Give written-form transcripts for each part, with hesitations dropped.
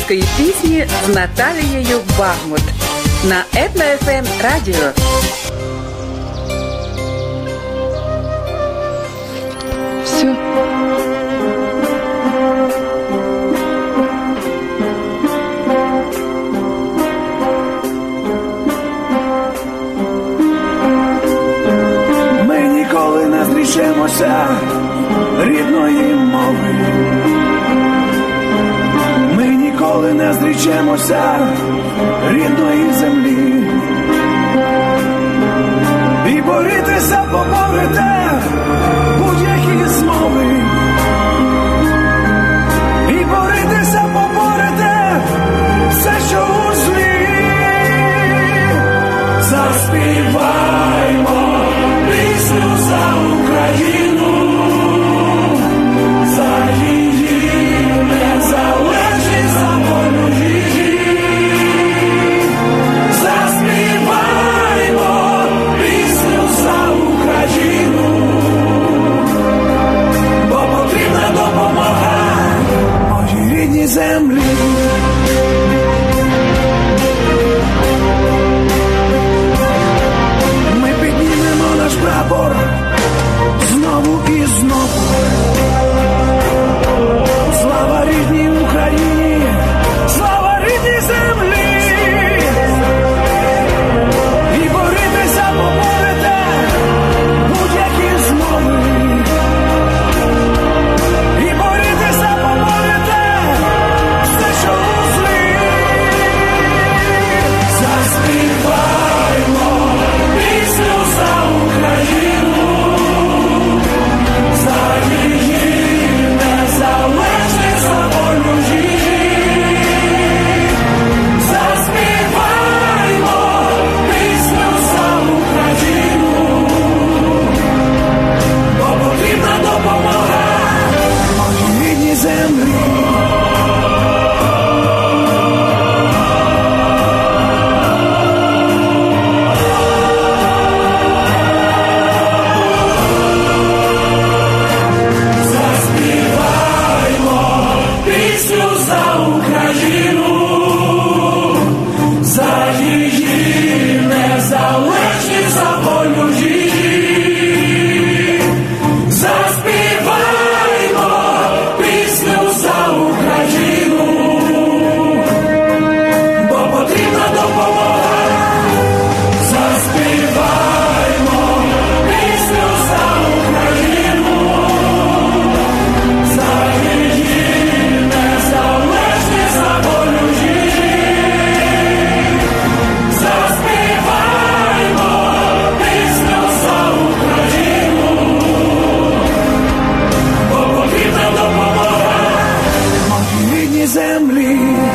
української пісні з Наталією Багмут на Етно-ФМ радіо. Все. Ми ніколи не зрішимося рідної мови. Ми ніколи не зрічемося рідної землі. І борітеся, поборете будь-які змови. І борітеся, поборете все, що у злі. Заспіваймо пісню за Україну, за її незалежність, за волю її. Заспіваймо пісню за Україну, бо потрібна допомога моїй рідній землі. Ми піднімемо наш прапор знову і знову. Слава рідній Україні, слава рідній землі. І борітеся, поборете будь-які змови. І борітеся, поборете все, що у злі. Заспіваймо пісню за Україну, за її незалежність, за волю її. Заспіваймо пісню за Україну, бо потрібна допомога моїй рідній землі. Заспіваймо пісню за Україну, за її незалежність, за волю її. Заспіваймо пісню за Україну, бо потрібна допомога. Заспіваймо пісню за Україну, за її незалежність, за волю її. Заспіваймо пісню за Україну, бо потрібна допомога моїй рідній землі.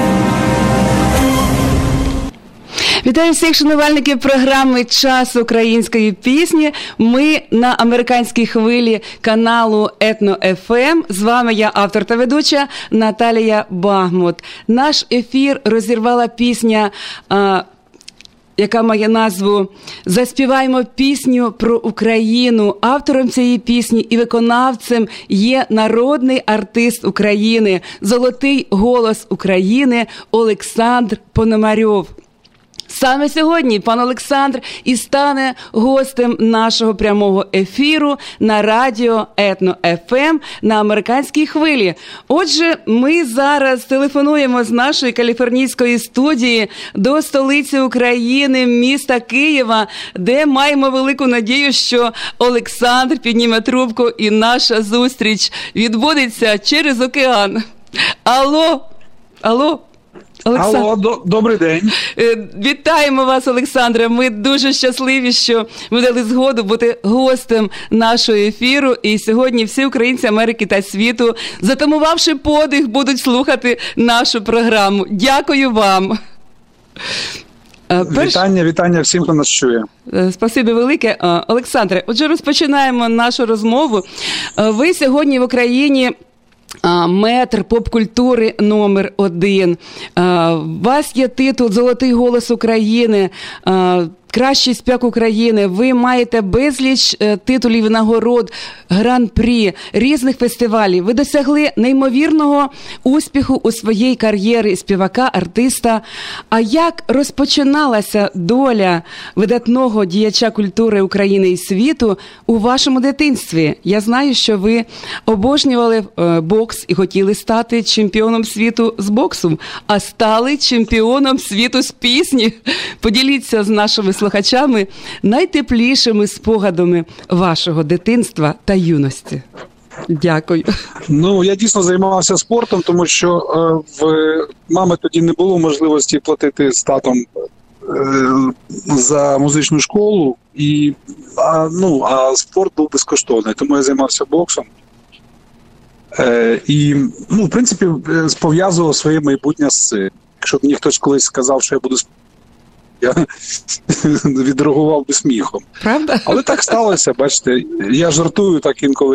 Вітаю всіх шанувальників програми «Час української пісні». Ми на американській хвилі каналу Етно-ФМ. З вами я, автор та ведуча Наталія Багмут. Наш ефір розірвала пісня, яка має назву «Заспіваймо пісню про Україну». Автором цієї пісні і виконавцем є народний артист України, золотий голос України Олександр Пономарьов. Саме сьогодні пан Олександр і стане гостем нашого прямого ефіру на радіо Етно-ФМ на американській хвилі. Отже, ми зараз телефонуємо з нашої каліфорнійської студії до столиці України, міста Києва, де маємо велику надію, що Олександр підніме трубку і наша зустріч відбудеться через океан. Алло, Олександр. Алло, добрий день. Вітаємо вас, Олександре. Ми дуже щасливі, що ви дали згоду бути гостем нашого ефіру. І сьогодні всі українці Америки та світу, затамувавши подих, будуть слухати нашу програму. Дякую вам. Вітання всім, хто нас чує. Спасибі велике. Олександре, отже, розпочинаємо нашу розмову. Ви сьогодні в Україні метр поп-культури номер 1. У вас є титул «Золотий голос України». кращий співак України, ви маєте безліч титулів і нагород, гран-прі, різних фестивалів. Ви досягли неймовірного успіху у своїй кар'єрі співака, артиста. А як розпочиналася доля видатного діяча культури України і світу у вашому дитинстві? Я знаю, що ви обожнювали бокс і хотіли стати чемпіоном світу з боксу, а стали чемпіоном світу з пісні. Поділіться з нашими слухачами найтеплішими спогадами вашого дитинства та юності. Дякую. Ну, я дійсно займався спортом, тому що в мами тоді не було можливості платити з татом за музичну школу, а спорт був безкоштовний, тому я займався боксом. І, в принципі, пов'язував своє майбутнє з цим. Якщо б мені хтось колись сказав, що я буду я відреагував би сміхом. Правда? Але так сталося, бачите. Я жартую так інколи,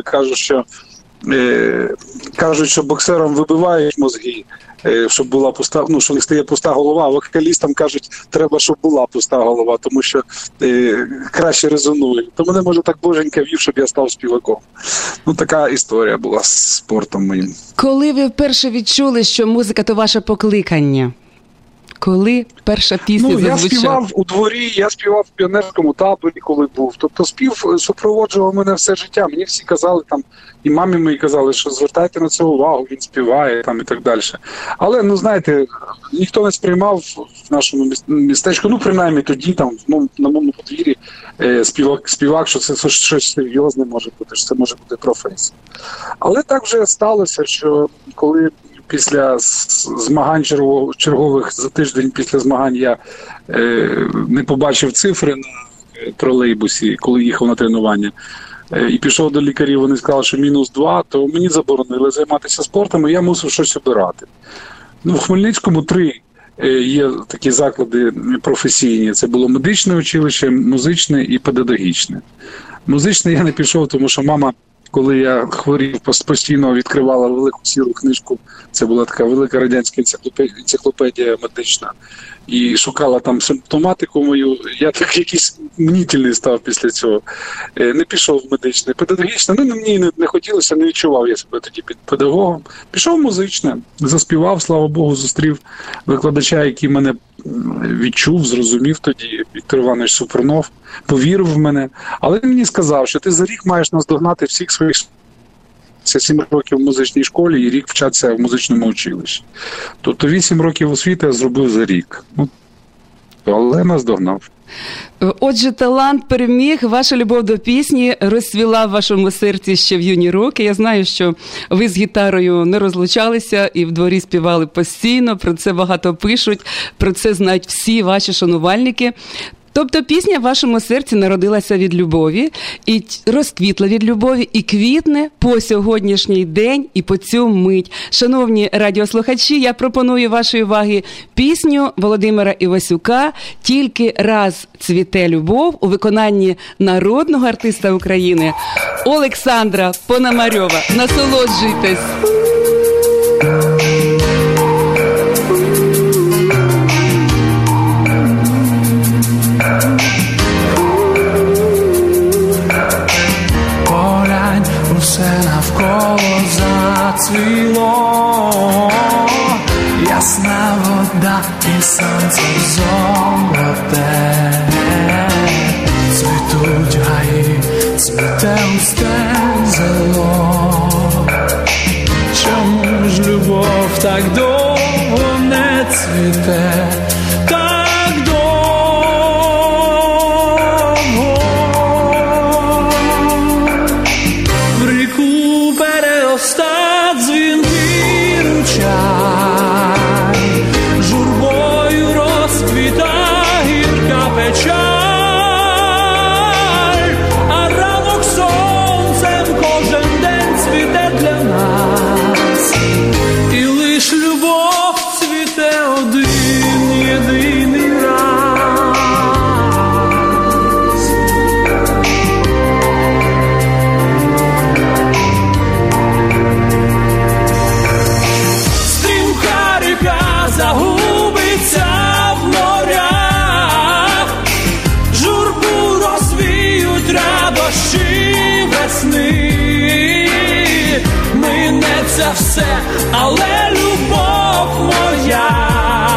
кажуть, що боксерам вибивають мозги, щоб була пуста, що не стає пуста голова, а вокалістам кажуть, треба, щоб була пуста голова, тому що краще резонує. То мене, може, так боженька вів, щоб я став співаком. Така історія була з спортом моїм. Коли ви вперше відчули, що музика – то ваше покликання? Коли перша пісня зазвучала? Я співав у дворі, я співав в піонерському таборі, коли був. Тобто спів супроводжував мене все життя. Мені всі казали, і мамі мої казали, що звертайте на це увагу, він співає і так далі. Але, знаєте, ніхто не сприймав в нашому містечку, принаймні тоді, на моєму подвір'ї, співак, що це щось серйозне може бути, що це може бути професія. Але так вже сталося, що коли після змагань чергових за тиждень після змагань я не побачив цифри на тролейбусі, коли їхав на тренування, і пішов до лікарів, вони сказали, що -2, то мені заборонили займатися спортом, і я мусив щось обирати. В Хмельницькому 3 є такі заклади професійні. Це було медичне училище, музичне і педагогічне. Музичне я не пішов, тому що мама, коли я хворів, постійно відкривала велику сіру книжку, це була така велика радянська енциклопедія медична, і шукала там симптоматику мою. Я так якийсь мнітельний став після цього. Не пішов в медичне. Педагогічне, мені не хотілося, не відчував я себе тоді під педагогом. Пішов в музичне, заспівав, слава Богу, зустрів викладача, який мене відчув, зрозумів тоді, Віктор Іванович Супернов, повірив в мене. Але він мені сказав, що ти за рік маєш наздогнати всіх своїх. Це 7 років в музичній школі і рік вчатися в музичному училищі. Тобто 8 років освіти я зробив за рік. Але наздогнав. Отже, талант переміг, ваша любов до пісні розцвіла в вашому серці ще в юні роки. Я знаю, що ви з гітарою не розлучалися і в дворі співали постійно, про це багато пишуть, про це знають всі ваші шанувальники. Тобто пісня в вашому серці народилася від любові, і розквітла від любові, і квітне по сьогоднішній день і по цю мить. Шановні радіослухачі, я пропоную вашій увазі пісню Володимира Івасюка «Тільки раз цвіте любов» у виконанні народного артиста України Олександра Пономарьова. Насолоджуйтесь! Все навколо зацвіло, ясна вода і сонце золоте, цвітуть гаї, цвіте усте зело. Чому ж любов так довго не цвіте? І лиш любов цвіте один. дощі весни. Минеться все, але любов моя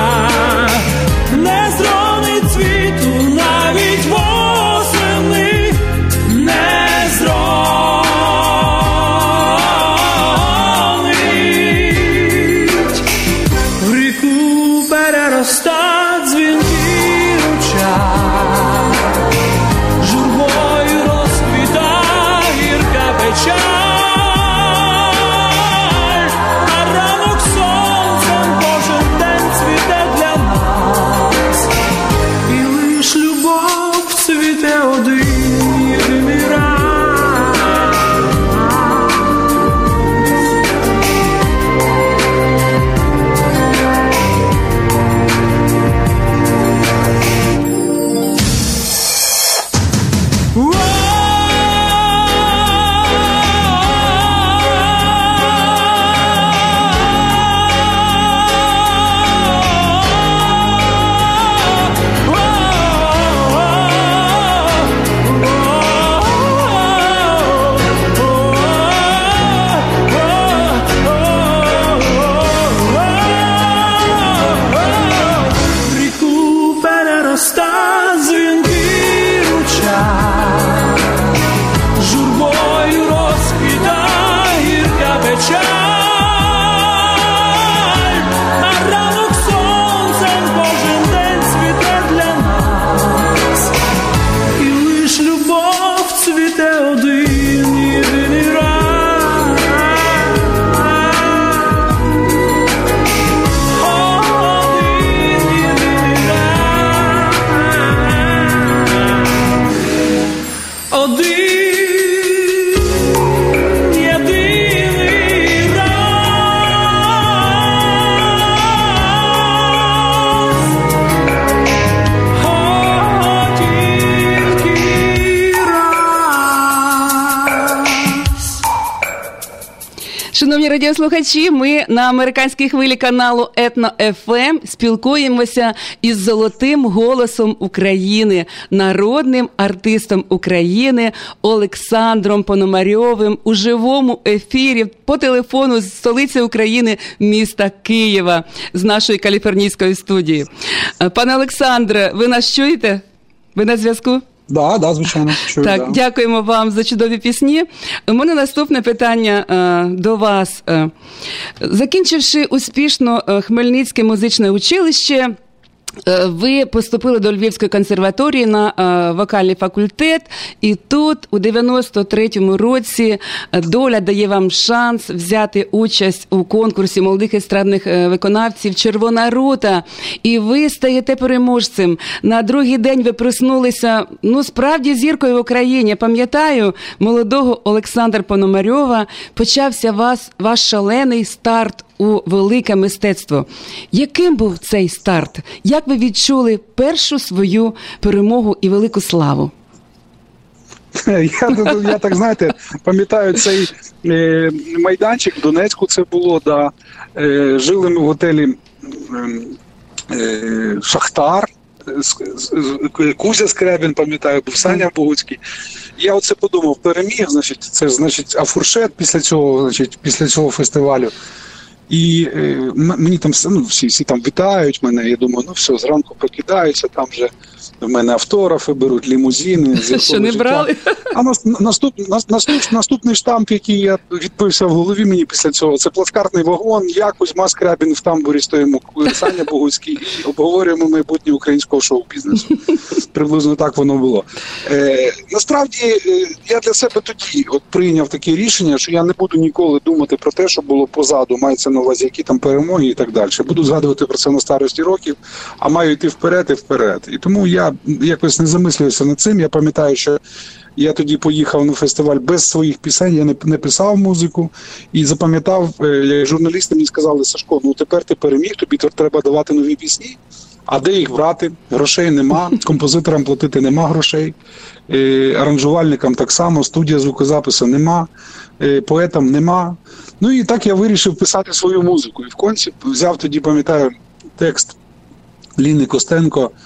не зронить цвіту навіть восени, не зронить. В ріку переростать дзвінки ручай, журбою розквіта гірка печаль. Шановні радіослухачі, ми на американській хвилі каналу Етно-ФМ спілкуємося із золотим голосом України, народним артистом України Олександром Пономарьовим у живому ефірі по телефону з столиці України, міста Києва, з нашої каліфорнійської студії. Пане Олександре, ви нас чуєте? Ви на зв'язку? Да, звичайно. Чую, так, да. Дякуємо вам за чудові пісні. У мене наступне питання до вас. Закінчивши успішно Хмельницьке музичне училище, ви поступили до Львівської консерваторії на вокальний факультет, і тут у 93-му році доля дає вам шанс взяти участь у конкурсі молодих естрадних виконавців «Червона рута», і ви стаєте переможцем. На другий день ви проснулися, справді зіркою в Україні. Пам'ятаю, молодого Олександра Пономарьова, почався ваш шалений старт у велике мистецтво. Яким був цей старт? Як ви відчули першу свою перемогу і велику славу? Я так, знаєте, пам'ятаю цей майданчик в Донецьку, це було, да. Жили ми в готелі «Шахтар», Кузя Скрябін, пам'ятаю, був Саня Богуцький. Я оце подумав, переміг, це значить, а фуршет після цього фестивалю. І мені там всі там вітають мене, я думаю, все, зранку прокидаюся, там вже в мене автографи беруть, лімузини. Що не брали? А наступний штамп, який я відбився в голові мені після цього, це плацкартний вагон, я, Кузьма Скрябін в тамбурі стоїмо, Саня Богуцький, і обговорюємо майбутнє українського шоу-бізнесу. Приблизно так воно було. Насправді, я для себе тоді прийняв таке рішення, що я не буду ніколи думати про те, що було позаду, мається на увазі, які там перемоги і так далі. Буду згадувати про це на старості років, а маю йти вперед і вперед. І тому я якось не замислююся над цим. Я пам'ятаю, що я тоді поїхав на фестиваль без своїх пісень, я не писав музику і запам'ятав, як журналісти мені сказали: Сашко, тепер ти переміг, тобі треба давати нові пісні. А де їх брати? Грошей нема, композиторам платити нема грошей, аранжувальникам так само, студія звукозапису нема, поетам нема. І так я вирішив писати свою музику. І в кінці взяв тоді, пам'ятаю, текст Ліни Костенко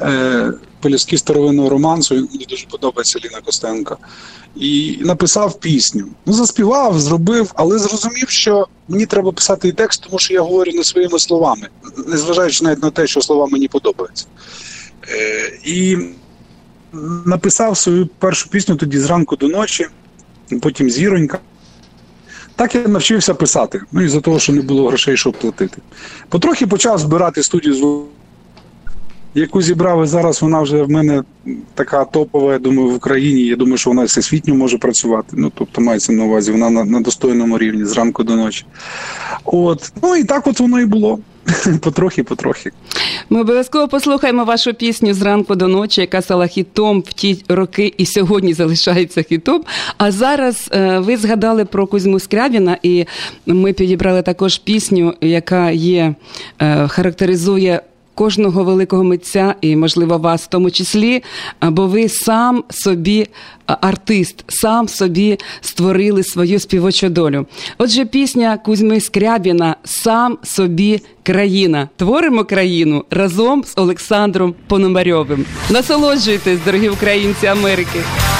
«Пелюстки старовинного романсу», мені дуже подобається Ліна Костенко, і написав пісню. Заспівав, зробив, але зрозумів, що мені треба писати і текст, тому що я говорю не своїми словами, незважаючи навіть на те, що слова мені подобаються. І написав свою першу пісню тоді «Зранку до ночі», потім «Зіронька». Так я навчився писати, із-за того, що не було грошей, щоб платити. Потрохи почав збирати студію звуку, яку зібрав, і зараз вона вже в мене така топова, я думаю, в Україні. Я думаю, що вона всесвітньо може працювати. Тобто мається на увазі, вона на достойному рівні, зранку до ночі. І так от воно і було. Потрохи. Ми обов'язково послухаємо вашу пісню «Зранку до ночі», яка стала хітом в ті роки і сьогодні залишається хітом. А зараз ви згадали про Кузьму Скрябіна, і ми підібрали також пісню, яка характеризує кожного великого митця, і, можливо, вас в тому числі, бо ви сам собі артист, сам собі створили свою співочу долю. Отже, пісня Кузьми Скрябіна «Сам собі країна». Творимо країну разом з Олександром Пономарьовим. Насолоджуйтесь, дорогі українці Америки!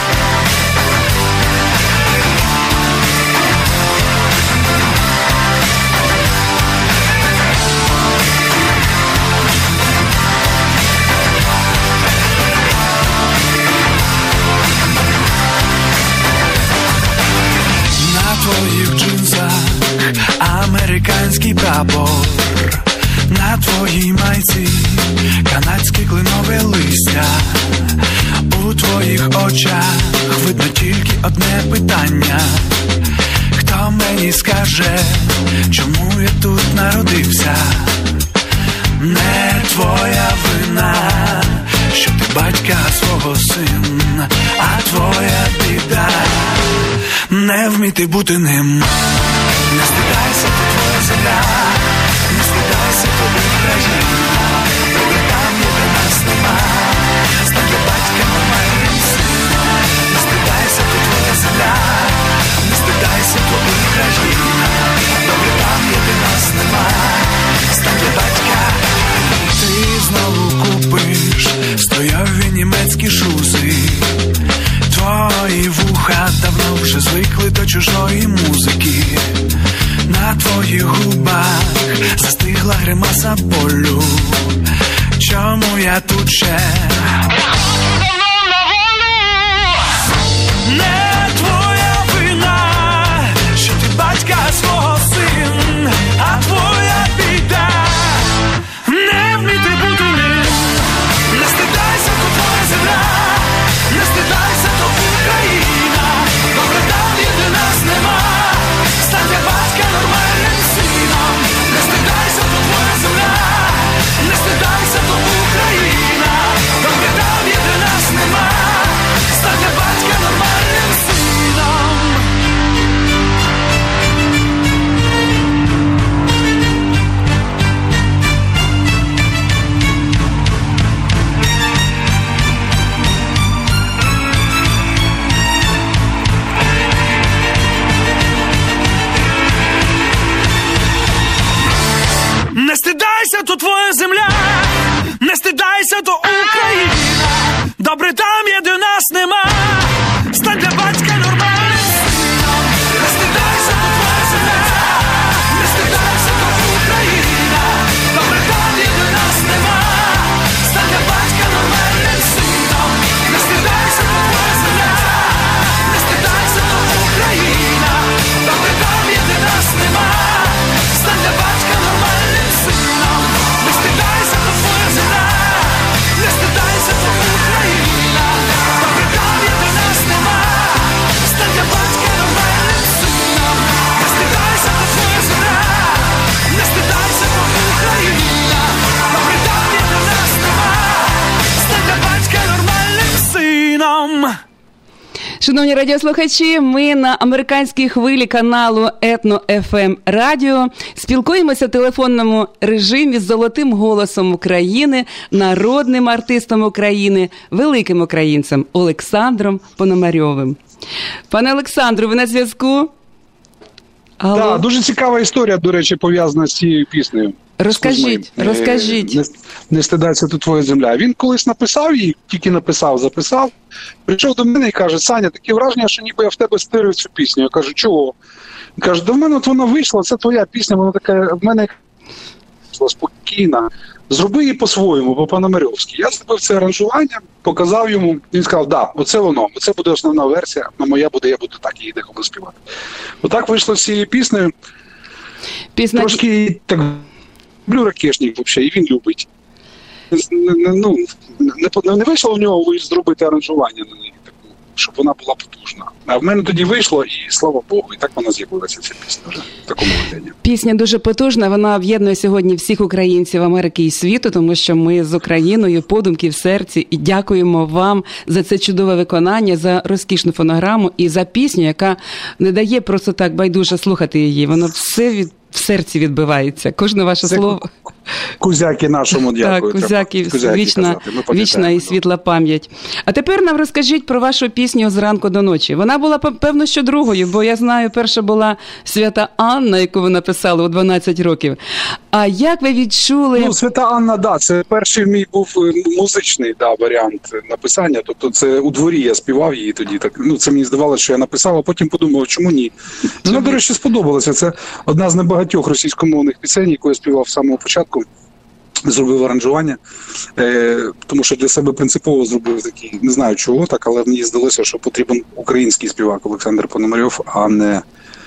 Американський прапор, на твоїй майці канадське кленове листя. У твоїх очах видно тільки одне питання: хто мені скаже, чому я тут народився? Не твоя вина, що ти батька свого сина, а твоя біда не вміти бути ним. Не стидайся, то твоя земля, не стидайся, то Україна, добре там, де нас нема, стань для батька нормальним сином. Не стидайся, то твоя земля, не стидайся, то Україна, добре там, де нас нема, стань для батька. Ти знову купиш стояві німецькі шузи. Твої вуха давно вже звикли до чужої музики. На твоїх губах застигла гримаса болю. Чому я тут ще? Не твоя вина, що ти батька свого син, а твоя біда не вміти бути ним. Не стидайся, то твоя земля, не стидайся, то Україна, добре там, де нас нема, стань для батька нормальним сином. Не стидайся, то твоя земля, не стидайся, то Україна, добре там, де нас нема, стань для батька нормальним сином. Не стидайся, то твоя земля, не стидайся, то Україна, добре там є, де нас нема, стань для батька нормальним сином. Не стидайся, то твоя земля, не стидайся, то Україна, добре там є, де нас нема, стань для батька нормальним сином. Не стидайся, то твоя земля, не стидайся, то Україна, добре там є, де нас нема, стань для батька нормальним сином. Не стидайся, то твоя земля, не стидайся, то Україна, добре там є, де нас нема, стань для батька нормальним сином. Не стидайся, то твоя земля, не стидайся, то Україна, добре там є, де нас нема, стань для батька нормальним сином. Шановні радіослухачі, ми на американській хвилі каналу Етно-ФМ Радіо спілкуємося в телефонному режимі з золотим голосом України, народним артистом України, великим українцем Олександром Пономарьовим. Пане Олександру, ви на зв'язку? Так, дуже цікава історія, до речі, пов'язана з цією піснею. Розкажіть. Не стидайся, тут твоя земля. Він колись написав її, тільки написав, записав. Прийшов до мене і каже: Саня, таке враження, що ніби я в тебе стирив цю пісню. Я кажу: чого? Він каже: до мене от вона вийшла, це твоя пісня, вона така, в мене спокійна. Зроби її по-своєму, по-пономарьовськи. Я зробив це аранжування, показав йому, він сказав: да, оце воно, оце буде основна версія, а моя буде, я буду так її деколи співати. Отак вийшло з цією піснею. Трошки так, люблю Ракешник взагалі, і він любить. Не вийшло у нього зробити аранжування на неї, щоб вона була потужна. А в мене тоді вийшло, і слава Богу, і так вона з'явилася, ця пісня вже в такому вигляді. Пісня дуже потужна, вона об'єднує сьогодні всіх українців Америки і світу, тому що ми з Україною, подумки в серці, і дякуємо вам за це чудове виконання, за розкішну фонограму і за пісню, яка не дає просто так байдуже слухати її. Воно все в серці відбивається. Кожне ваше слово. Кузяки нашому дякую. Так, Кузяки, вічна і світла пам'ять. А тепер нам розкажіть про вашу пісню «Зранку до ночі». Вона була, певно, що другою, бо я знаю, перша була «Свята Анна», яку ви написали у 12 років. А як ви відчули... «Свята Анна», да, це перший мій був музичний варіант написання. Тобто це у дворі я співав її тоді. Так, це мені здавалося, що я написав, а потім подумав, чому ні. Вона, до речі, сподобалася. Це одна з небагатьох російськомовних пісень, яку я співав з самого початку. Зробив аранжування, тому що для себе принципово зробив такий, не знаю чого так, але мені здалося, що потрібен український співак Олександр Пономарьов, а не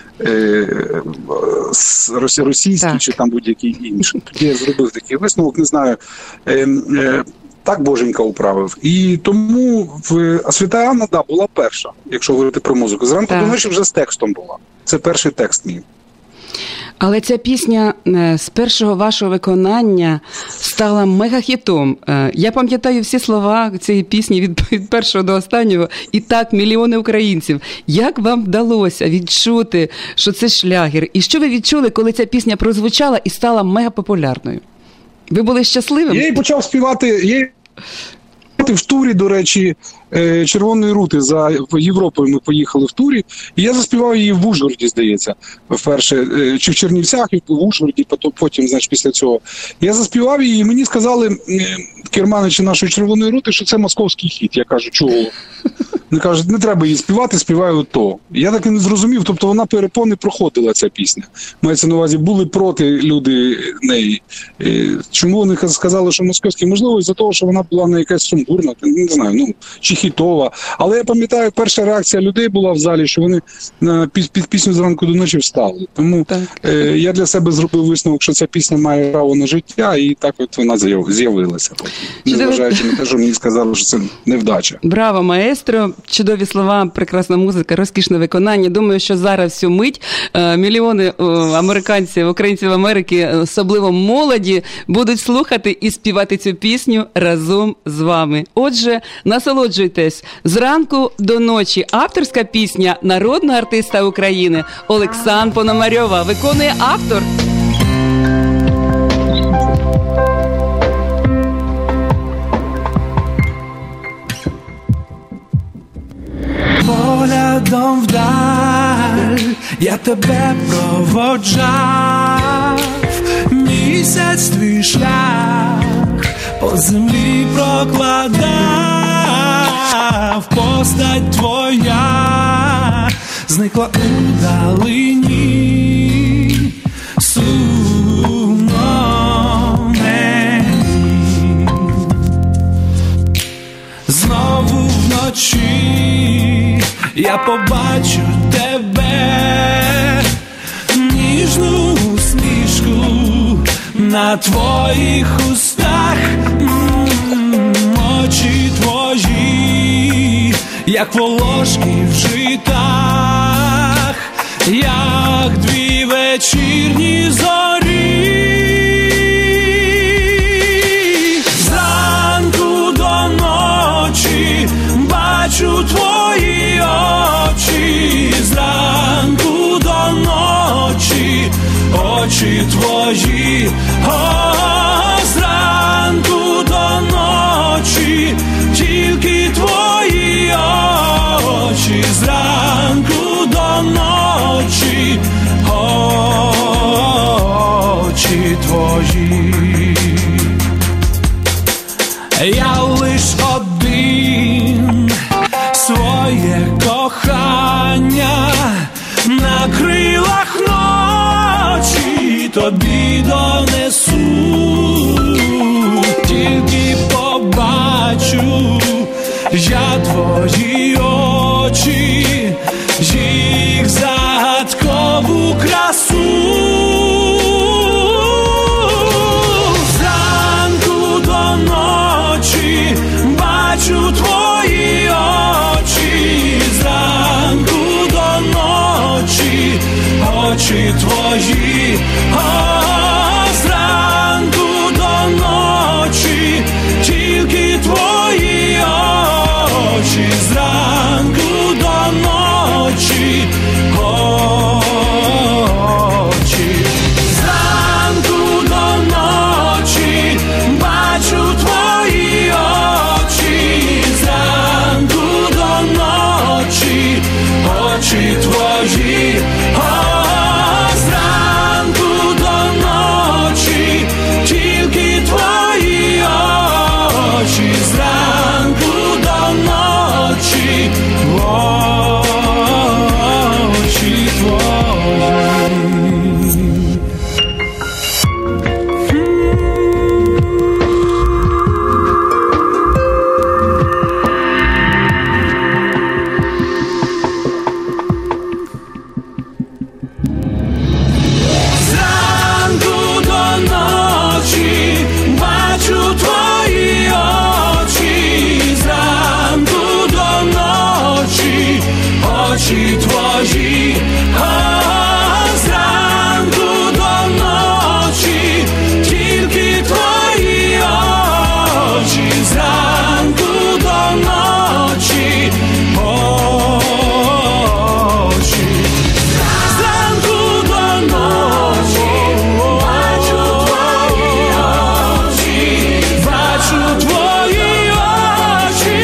російський чи там будь-який інший. Тоді я зробив такий висновок, не знаю, так Боженька управив. І тому «Свята Анна», да, була перша, якщо говорити про музику. «Зранку до ночі» вже з текстом була. Це перший текст мій. Але ця пісня з першого вашого виконання стала мегахітом. Я пам'ятаю всі слова цієї пісні від першого до останнього. І так, мільйони українців. Як вам вдалося відчути, що це шлягер? І що ви відчули, коли ця пісня прозвучала і стала мегапопулярною? Ви були щасливим? Я її почав співати... В турі, до речі, «Червоної рути» за Європою ми поїхали в турі, і я заспівав її в Ужгороді, здається, вперше, чи в Чернівцях, і в Ужгороді, потім, значить, після цього. Я заспівав її, і мені сказали керманичі нашої «Червоної рути», що це московський хіт. Я кажу: чого? Вони кажуть: не треба її співати, співаю то. Я так і не зрозумів, тобто вона перепони проходила, ця пісня. Мається на увазі, були проти люди неї. Чому вони сказали, що московський? Можливо, із-за того, що вона була не якась сумбурна, не знаю, чи хітова. Але я пам'ятаю, перша реакція людей була в залі, що вони під пісню «Зранку до ночі» встали. Тому я для себе зробив висновок, що ця пісня має право на життя, і так от вона з'явилася. Незважаючи на те, що мені сказали, що це невдача. Браво, маестро! Чудові слова, прекрасна музика, розкішне виконання. Думаю, що зараз всю мить мільйони американців, українців Америки, особливо молоді, будуть слухати і співати цю пісню разом з вами. Отже, насолоджуйтесь. «Зранку до ночі». Авторська пісня народного артиста України Олександра Пономарьова. Виконує автор. Поглядом вдаль я тебе проводжав, місяць твій шлях по землі прокладав, постать твоя зникла у далині, сумно мені. Знову вночі я побачу тебе, ніжну усмішку на твоїх устах, очі твої, як волошки в житах, як дві вечірні зорі. Зранку до ночі бачу твої очі, зранку до ночі очі твої, зранку до ночі тільки твої очі, зранку до ночі я твої очі, їх загадкову красу. Зранку до ночі бачу твої очі, зранку до ночі очі твої, зранку до ночі тільки твої очі, зранку до ночі очі, зранку до ночі бачу твої очі, зранку до ночі очі твої, зранку до ночі тільки твої очі, зранку до ночі очі твої. Очі твої, зранку до ночі тільки твої очі, зранку до ночі очі, зранку до ночі бачу твої очі, бачу твої очі.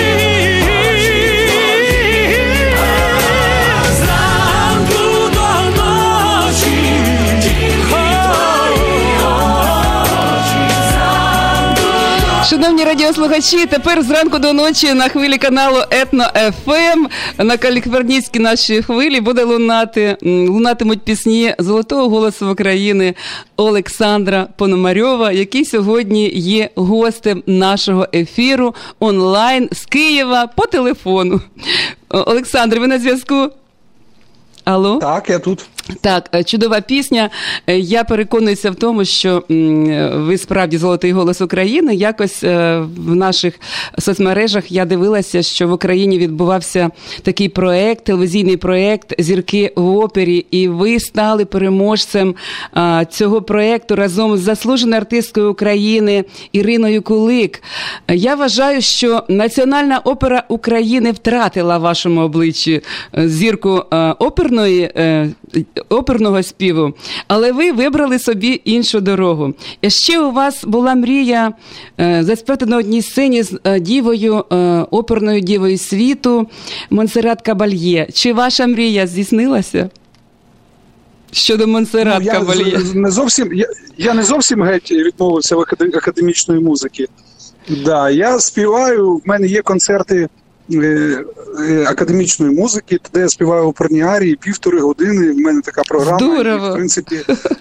Шановні радіослухачі, тепер зранку до ночі на хвилі каналу Етно-ФМ, на каліфорнійській нашій хвилі лунатимуть пісні золотого голосу України Олександра Пономарьова, який сьогодні є гостем нашого ефіру онлайн з Києва по телефону. Олександр, ви на зв'язку? Алло? Так, я тут. Так, чудова пісня. Я переконуюся в тому, що ви справді золотий голос України. Якось в наших соцмережах я дивилася, що в Україні відбувався такий проект, телевізійний проект «Зірки в опері», і ви стали переможцем цього проекту разом з заслуженою артисткою України Іриною Кулик. Я вважаю, що Національна опера України втратила в вашому обличчі зірку оперного співу, але ви вибрали собі іншу дорогу. І ще у вас була мрія заспівати на одній сцені з дівою, оперною дівою світу Монсеррат Кабальє. Чи ваша мрія здійснилася? Щодо Монсеррат Кабальє. Я не зовсім геть відмовився в академічної музики. Да, я співаю, в мене є концерти академічної музики, де я співаю оперні арії 1,5 години, в мене така програма. Здорово! І, в принципі,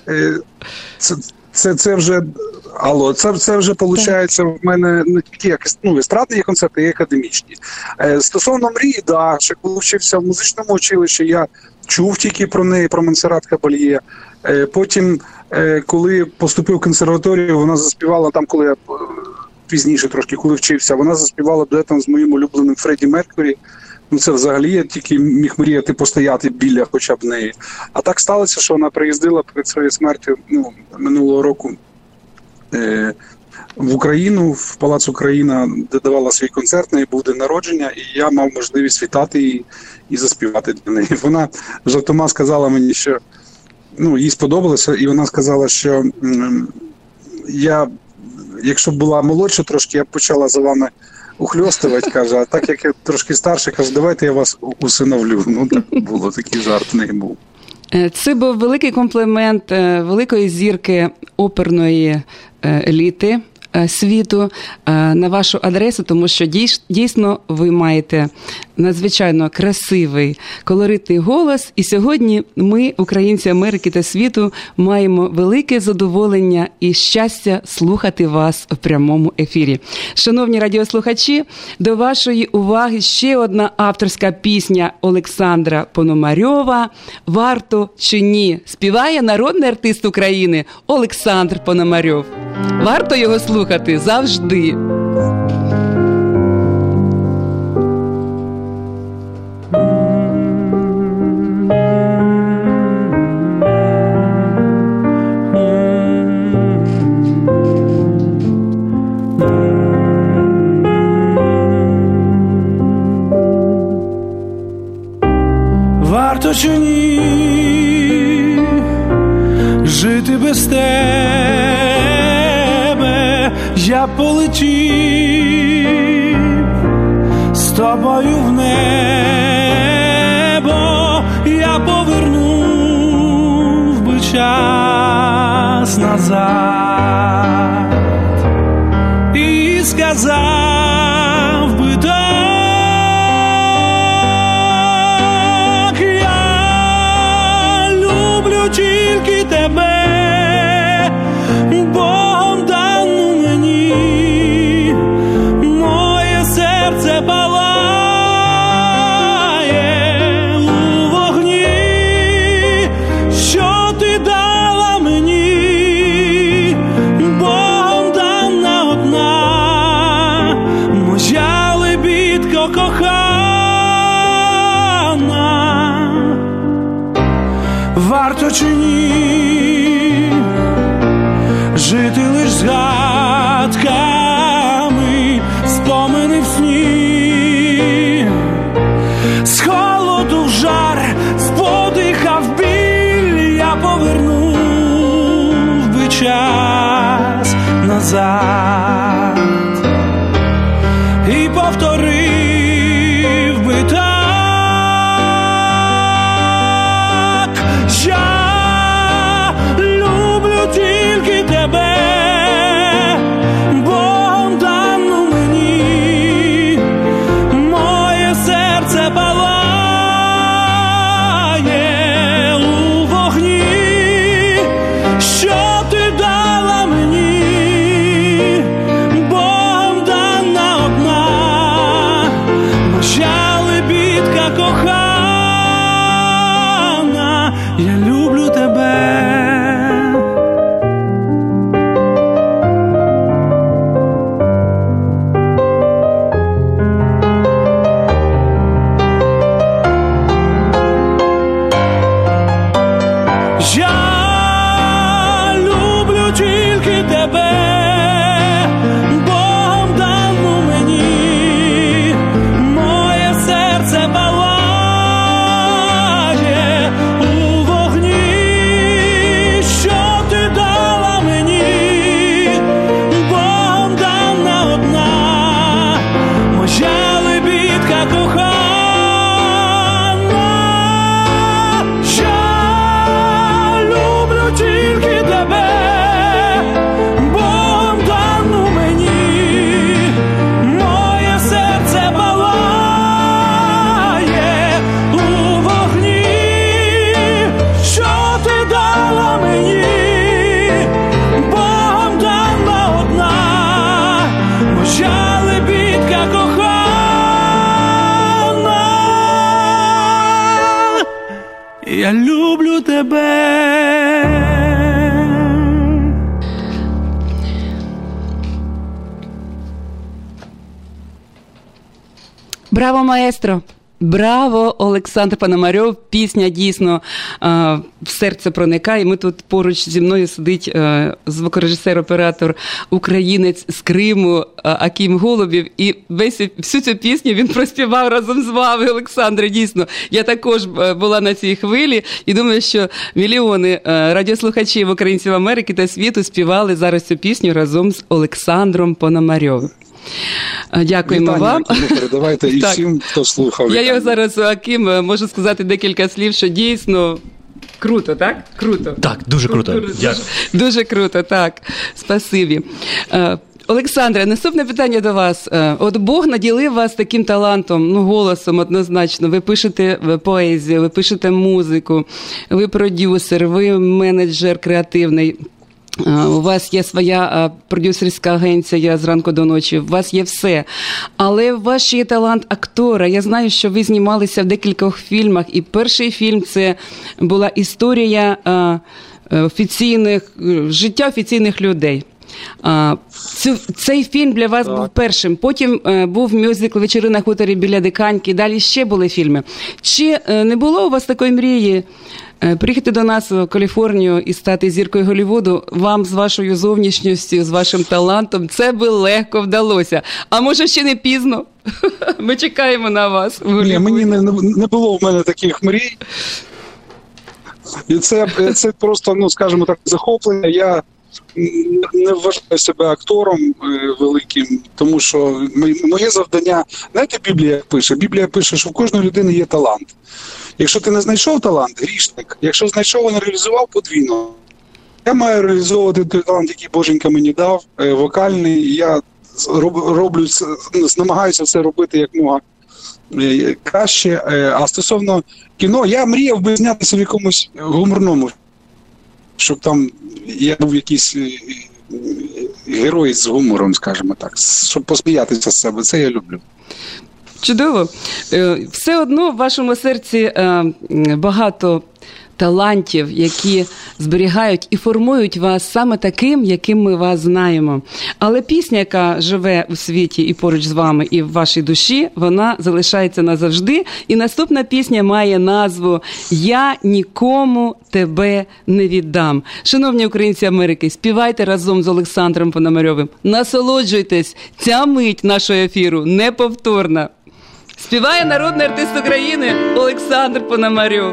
це вже це вже виходить в мене не тільки естрадні є концерти, і академічні. Стосовно мрії, да, ще коли вчився в музичному училищі, я чув тільки про неї, про Монсеррат Кабальє. Потім, коли поступив в консерваторію, вона заспівала там, коли я пізніше трошки, коли вчився, вона заспівала дуетом з моїм улюбленим Фредді Меркюрі. Ну, це взагалі я тільки міг мріяти постояти біля хоча б неї. А так сталося, що вона приїздила перед своєю смертю минулого року в Україну, в Палац Україна, де давала свій концерт, неї був день народження, і я мав можливість вітати її і заспівати для неї. Вона жартома сказала мені, що їй сподобалося, і вона сказала, що якщо б була молодша трошки, я б почала за вами ухльостувати, каже, а так як я трошки старше, каже, давайте я вас усиновлю. Так було, такий жарт в неї був. Це був великий комплімент великої зірки оперної еліти світу на вашу адресу, тому що дійсно ви маєте надзвичайно красивий, колоритний голос. І сьогодні ми, українці Америки та світу, маємо велике задоволення і щастя слухати вас в прямому ефірі. Шановні радіослухачі, до вашої уваги ще одна авторська пісня Олександра Пономарьова «Варто чи ні?» співає народний артист України Олександр Пономарьов. Варто його слухати завжди. Варто чи ні жити без тебе, я полетів з тобою в небо, я повернув би час назад і сказав би так. Тільки тебе, Богом дану мені, моє серце палає у вогні, що ти дала мені, Богом дана одна, моя лебідко кохана. Варто чи ні жити лиш згадками, спомини в сні, з холоду в жар, з подиха в біль, я повернув би час назад і повторив би так. Я люблю тільки тебе, Богом дану мені, моє серце палає у вогні, що ти дала мені, Богом дана одна, моя лебідка кохана. Я люблю тебе. Я люблю тільки тебе, Богом дану мені, моє серце палає у вогні, що ти дала мені, Богом дана одна, моя лебідка кохана. Я люблю тільки тебе, Богом дану мені, моє серце палає у вогні, що ти дала мені, Богом дана одна, моя лебідка кохана. Я люблю тебе. Браво, маестро! Браво, Олександр Пономарьов. Пісня дійсно в серце проникає. Ми тут поруч зі мною сидить звукорежисер-оператор українець з Криму Аким Голубів. І всю цю пісню він проспівав разом з вами, Олександре. Дійсно, я також була на цій хвилі і думаю, що мільйони радіослухачів українців Америки та світу співали зараз цю пісню разом з Олександром Пономарьовим. Дякуємо вам. Передавайте і всім, хто слухав. Я його зараз, Аким, можу сказати декілька слів, що дійсно круто, так? Круто. Так, дуже круто. Дякую. Дуже круто, так. Спасибі. Олександре, наступне питання до вас. От Бог наділив вас таким талантом, голосом однозначно. Ви пишете поезію, ви пишете музику, ви продюсер, ви менеджер креативний. У вас є своя продюсерська агенція «Зранку до ночі», у вас є все. Але у вас ще є талант актора. Я знаю, що ви знімалися в декількох фільмах, і перший фільм – це була історія життя офіційних людей. Цей фільм для вас був першим. Потім був мюзикл «Вечори на хуторі біля Диканьки», далі ще були фільми. Чи не було у вас такої мрії приїхати до нас в Каліфорнію і стати зіркою Голлівуду? Вам з вашою зовнішністю, з вашим талантом це би легко вдалося. А може ще не пізно? Ми чекаємо на вас в Голлівуді. Ні, мені не було в мене таких мрій. І це просто, скажімо так, захоплення. Я не вважаю себе актором великим, тому що моє завдання, знаєте, Біблія пише? Біблія пише, що в кожної людини є талант. Якщо ти не знайшов талант, грішник. Якщо знайшов, не реалізував, подвійно. Я маю реалізовувати той талант, який Боженька мені дав, вокальний. Я намагаюся все робити як мога краще. А стосовно кіно, я мріяв би знятися в якомусь гуморному, щоб там я був якийсь герой з гумором, скажімо так, щоб посміятися з себе. Це я люблю. Чудово. Все одно в вашому серці багато талантів, які зберігають і формують вас саме таким, яким ми вас знаємо. Але пісня, яка живе у світі і поруч з вами, і в вашій душі, вона залишається назавжди. І наступна пісня має назву «Я нікому тебе не віддам». Шановні українці Америки, співайте разом з Олександром Пономарьовим. Насолоджуйтесь, ця мить нашого ефіру неповторна. Співає народний артист України Олександр Пономарьов.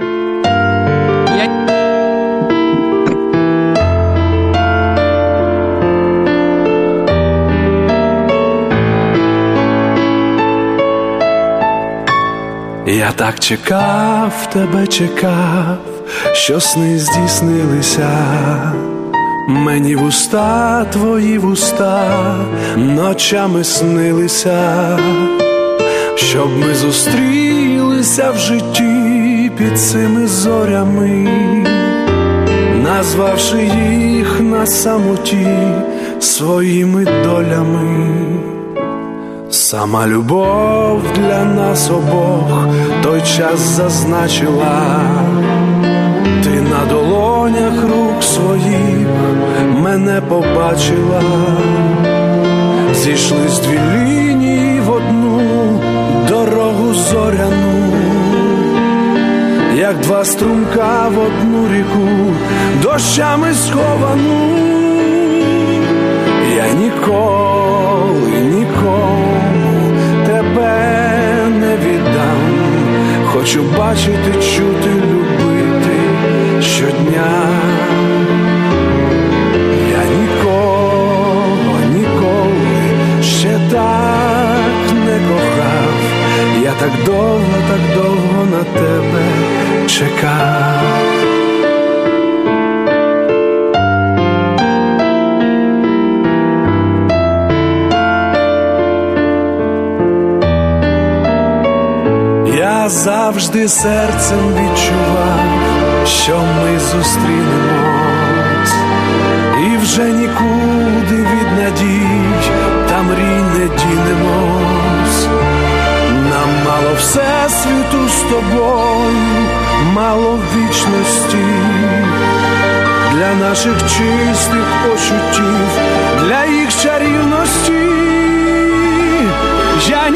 Я так чекав, тебе чекав, що сни здійснилися. Мені вуста, твої вуста, ночами снилися, щоб ми зустрілися в житті під цими зорями, назвавши їх на самоті своїми долями. Сама любов для нас обох той час зазначила. Ти на долонях рук своїх мене побачила. Зійшлись дві лінії в одну дорогу зоряну, як два струмка в одну ріку, дощами сховану. Я ніколи нікому тебе не віддам. Хочу бачити, чути, любити щодня. Я ніколи ще так не кохав. Я так довго на тебе чекав. Я завжди серцем відчував, що ми зустрінемось, і вже нікуди від надій та мрій не дінемось. Нам мало всесвіту з тобою, мало вічності, для наших чистих почуттів, для їх чарівності. Я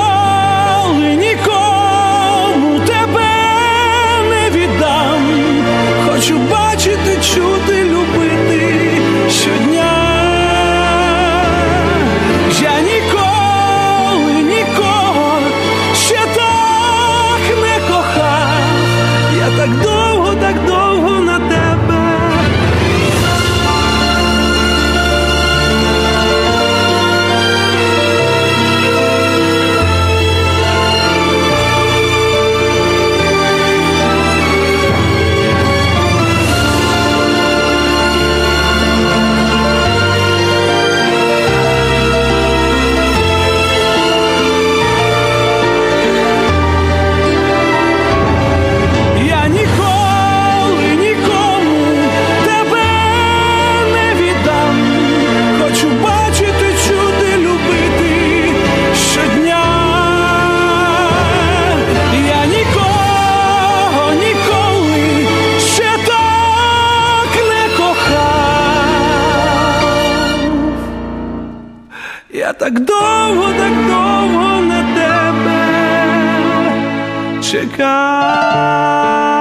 нікому тебе не віддам. Хочу бачити, чути, любити щодня. Я нікого ще так не кохав. Я так довго на тебе. так довго на тебе чекав.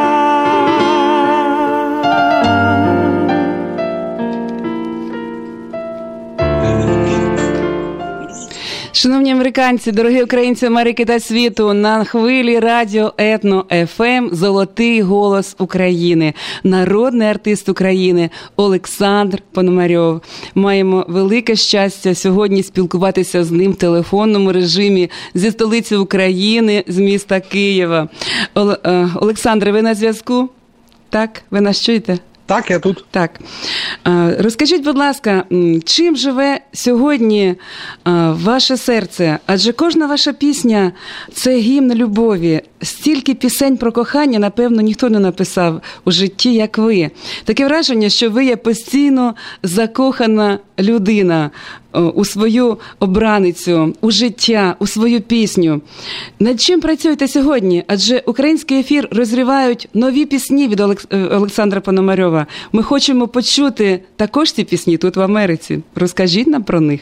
Шановні американці, дорогі українці Америки та світу, на хвилі радіо Етно ФМ «Золотий голос України», народний артист України Олександр Пономарьов. Маємо велике щастя сьогодні спілкуватися з ним в телефонному режимі зі столиці України, з міста Києва. Олександре, ви на зв'язку? Так? Ви нас чуєте? Так, я тут. Так. Розкажіть, будь ласка, чим живе сьогодні ваше серце? Адже кожна ваша пісня – це гімн любові. Стільки пісень про кохання, напевно, ніхто не написав у житті, як ви. Таке враження, що ви є постійно закохана людина у свою обраницю, у життя, у свою пісню. Над чим працюєте сьогодні? Адже український ефір розривають нові пісні від Олександра Пономарьова. Ми хочемо почути також ці пісні тут в Америці. Розкажіть нам про них.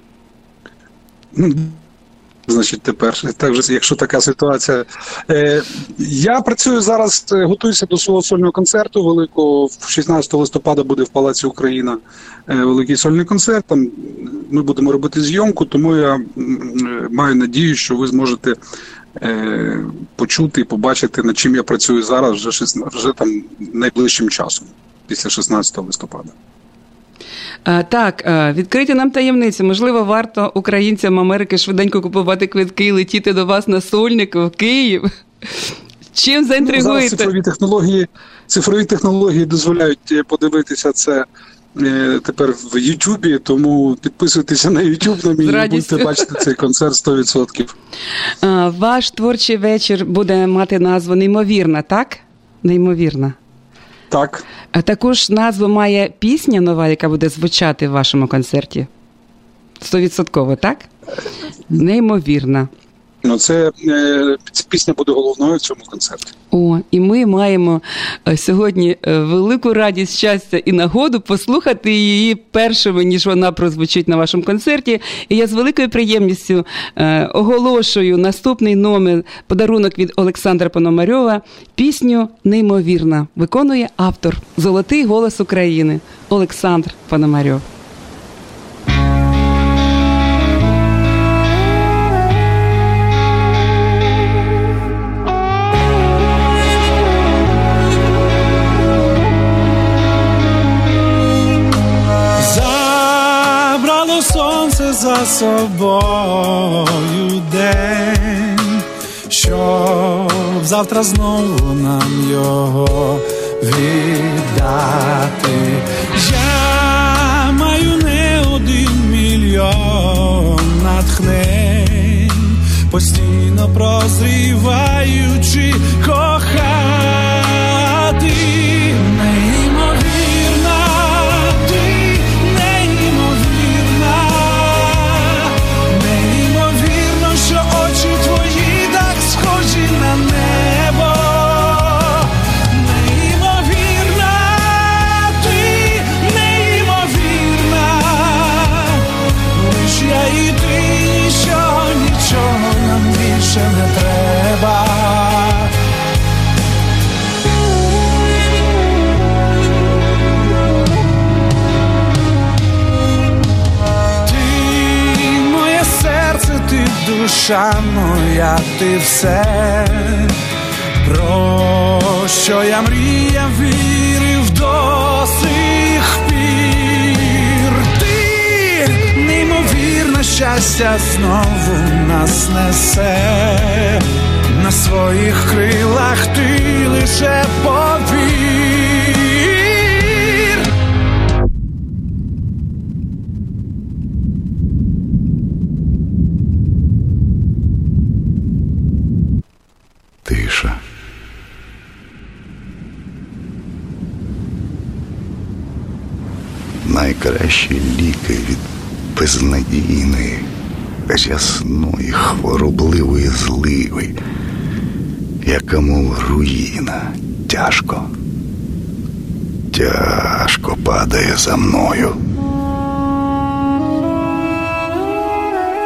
Значить, тепер, якщо така ситуація. Я працюю зараз, готуюся до свого сольного концерту великого. 16 листопада буде в Палаці Україна великий сольний концерт. Там ми будемо робити зйомку, тому я маю надію, що ви зможете почути і побачити, над чим я працюю зараз вже там найближчим часом, після 16 листопада. Так, відкрийте нам таємницю. Можливо, варто українцям Америки швиденько купувати квитки і летіти до вас на сольник в Київ. Чим заінтригуєте? Зараз цифрові технології дозволяють подивитися це тепер в Ютубі, тому підписуйтеся на Ютуб на мій, і будете бачити цей концерт 100%. Ваш творчий вечір буде мати назву «Неймовірна», так? «Неймовірна». Так. А також назву має пісня нова, яка буде звучати в вашому концерті? 100%, так? Неймовірна. Це пісня буде головною в цьому концерті. І ми маємо сьогодні велику радість, щастя і нагоду послухати її першими, ніж вона прозвучить на вашому концерті. І я з великою приємністю оголошую наступний номер, подарунок від Олександра Пономарьова, пісню «Неймовірна». Виконує автор «Золотий голос України» Олександр Пономарьов. За собою день, щоб завтра знову нам його віддати. Я маю не 1 мільйон натхнень, постійно прозріваючи кохати. Не треба. Ти моє серце, ти душа моя, ти все, про що я мріяв, вірив до сих пір. Ти неймовірне щастя знову нас несе, на своїх крилах ти лише повір. Тиша. Найкращі ліки від безнадійної, рясної, хворобливої зливи, яка мов руїна, тяжко падає за мною.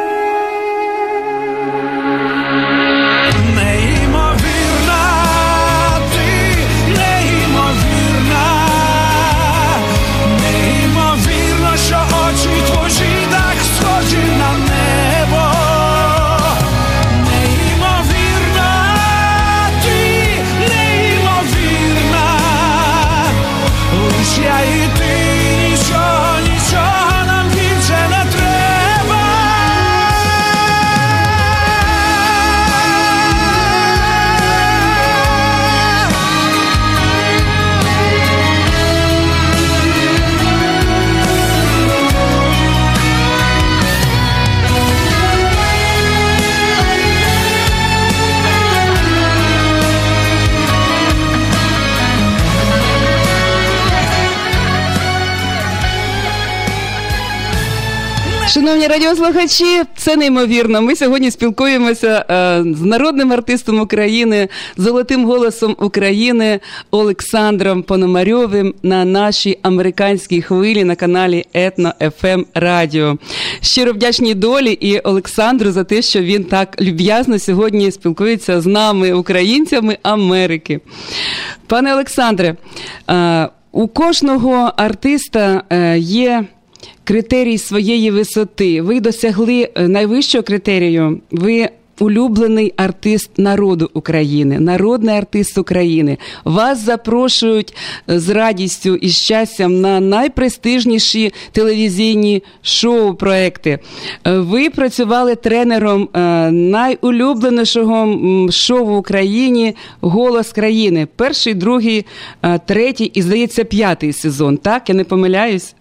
Шановні радіослухачі, це неймовірно. Ми сьогодні спілкуємося з народним артистом України, золотим голосом України Олександром Пономарьовим на нашій американській хвилі на каналі Етно-ФМ Радіо. Щиро вдячні долі і Олександру за те, що він так люб'язно сьогодні спілкується з нами, українцями Америки. Пане Олександре, у кожного артиста є критерій своєї висоти. Ви досягли найвищого критерію. Ви улюблений артист народу України, народний артист України. Вас запрошують з радістю і щастям на найпрестижніші телевізійні шоу-проекти. Ви працювали тренером найулюбленішого шоу в Україні «Голос країни». Перший, другий, третій і, здається, 5-й сезон. Так? Я не помиляюсь?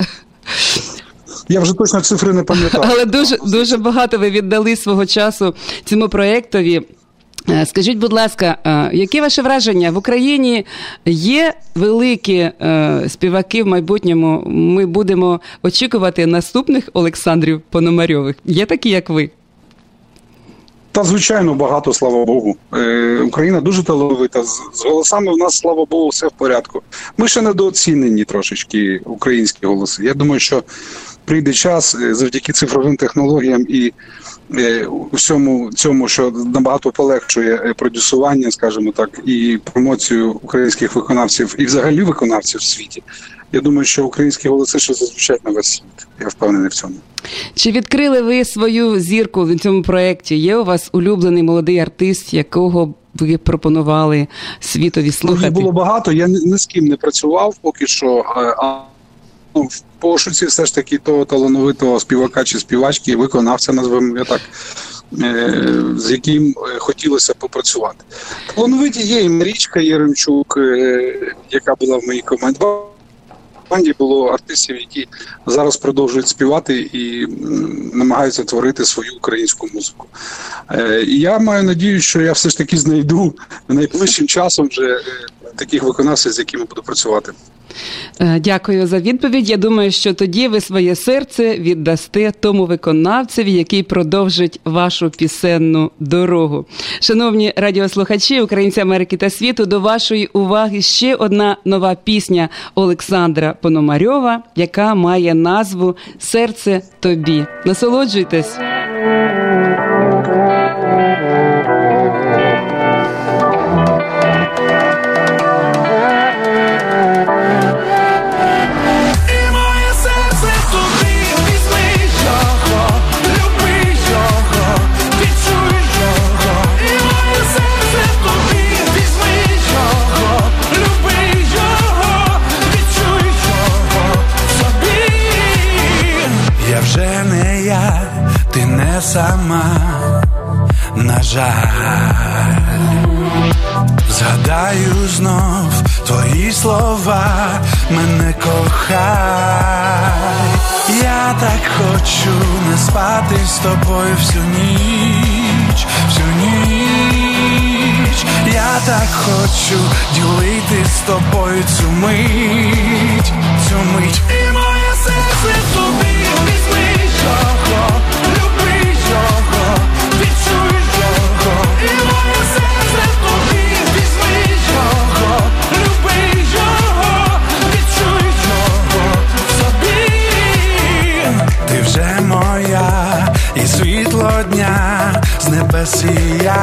Я вже точно цифри не пам'ятаю. Але дуже багато ви віддали свого часу цьому проєктові. Скажіть, будь ласка, які ваші враження? В Україні є великі співаки в майбутньому? Ми будемо очікувати наступних Олександрів Пономарьових. Є такі, як ви? Та, звичайно, багато, слава Богу. Україна дуже талановита. З голосами в нас, слава Богу, все в порядку. Ми ще недооцінені трошечки, українські голоси. Я думаю, що прийде час завдяки цифровим технологіям і усьому цьому, що набагато полегшує продюсування, скажімо так, і промоцію українських виконавців і взагалі виконавців в світі. Я думаю, що українські голоси ще зазвучать на весь світ. Я впевнений в цьому. Чи відкрили ви свою зірку в цьому проєкті? Є у вас улюблений молодий артист, якого ви пропонували світові слухати? Їх було багато, я ні з ким не працював поки що, в пошуці все ж таки того талановитого співака чи співачки, виконавця, назвемо я так, з яким хотілося попрацювати. Талановиті є і Марічка Єремчук, яка була в моїй команді. В команді було артистів, які зараз продовжують співати і намагаються творити свою українську музику. І я маю надію, що я все ж таки знайду найближчим часом вже таких виконавців, з якими буду працювати. Дякую за відповідь. Я думаю, що тоді ви своє серце віддасте тому виконавцеві, який продовжить вашу пісенну дорогу. Шановні радіослухачі, українці Америки та світу, до вашої уваги ще одна нова пісня Олександра Пономарьова, яка має назву «Серце тобі». Насолоджуйтесь! Ти не сама, на жаль. Згадаю знов твої слова, мене кохай. Я так хочу не спати з тобою всю ніч, всю ніч. Я так хочу ділити з тобою цю мить, цю мить. І моє серце тобі візьми його, люби його, відчуй його. І моє серце тобі візьми його, люби його, відчуй його собі. Ти вже моя, і світло дня з небес сія.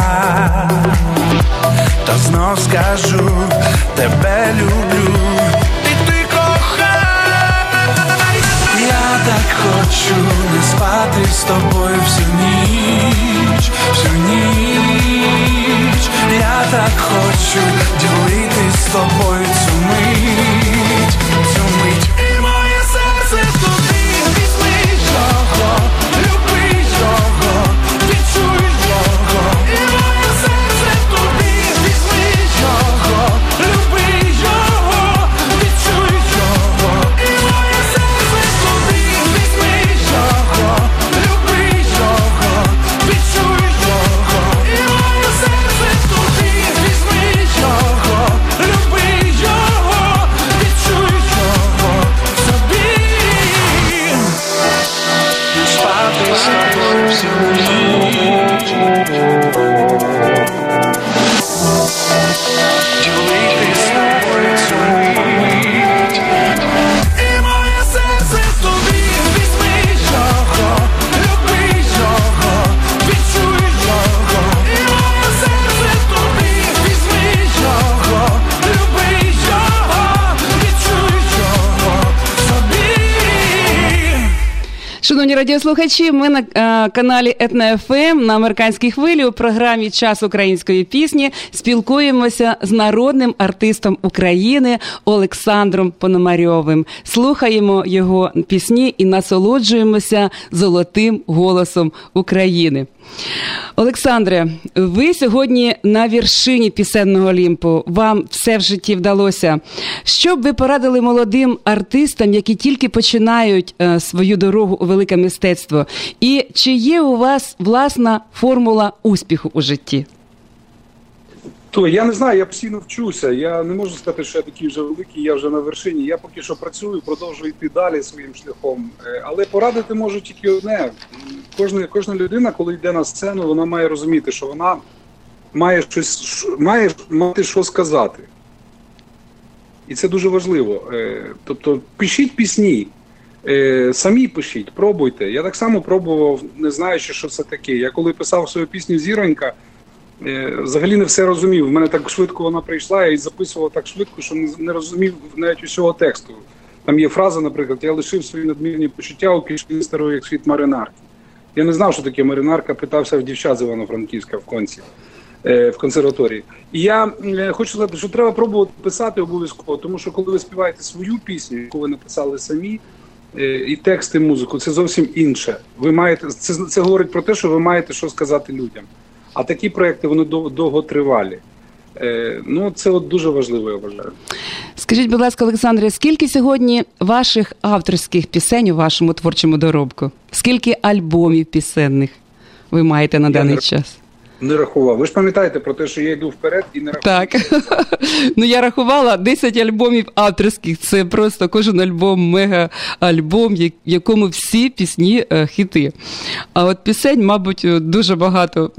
Та знов скажу, тебе люблю, і ти кохай. Я так хочу не спати з тобою всю ніч, всю ніч. Я так хочу ділити з тобою цю мить, цю мить. І моє серце тобі візьми його, люби його, відчуй його. І моє серце тобі візьми його, люби його, відчуй його. І моє серце тобі візьми його, люби його, відчуй його. І моє серце тобі візьми його, люби його, відчуй його. Шановні радіослухачі, ми на каналі Етно-ФМ на американській хвилі у програмі «Час української пісні» спілкуємося з народним артистом України Олександром Пономарьовим. Слухаємо його пісні і насолоджуємося золотим голосом України. Олександре, ви сьогодні на вершині пісенного Олімпу. Вам все в житті вдалося. Що б ви порадили молодим артистам, які тільки починають свою дорогу у велике мистецтво? І чи є у вас власна формула успіху у житті? То я не знаю, я постійно вчуся. Я не можу сказати, що я такий вже великий, я вже на вершині. Я поки що працюю, продовжую йти далі своїм шляхом. Але порадити можу тільки одне. Кожна людина, коли йде на сцену, вона має розуміти, що вона має мати що сказати. І це дуже важливо. Тобто пишіть пісні, самі пишіть, пробуйте. Я так само пробував, не знаючи, що це таке. Я коли писав свою пісню «Зіронька», взагалі не все розумів. В мене так швидко вона прийшла, я її записував так швидко, що не розумів навіть усього тексту. Там є фраза, наприклад, «Я лишив свої надмірні почуття у кишені старої, як світ маринарки». Я не знав, що таке маринарка, питався в дівчат з Івано-Франківська в Конці, в консерваторії. І я хочу сказати, що треба пробувати писати обов'язково, тому що коли ви співаєте свою пісню, яку ви написали самі, і текст, і музику, це зовсім інше. Ви маєте, це говорить про те, що ви маєте що сказати людям. А такі проекти, вони довготривалі. Ну, це от дуже важливо, я вважаю. Скажіть, будь ласка, Олександре, скільки сьогодні ваших авторських пісень у вашому творчому доробку? Скільки альбомів пісенних ви маєте на даний час? Не рахував. Ви ж пам'ятаєте про те, що я йду вперед і не рахував. Так. Ну, я рахувала 10 альбомів авторських. Це просто кожен альбом мега-альбом, в якому всі пісні хіти. А от пісень, мабуть, дуже багато.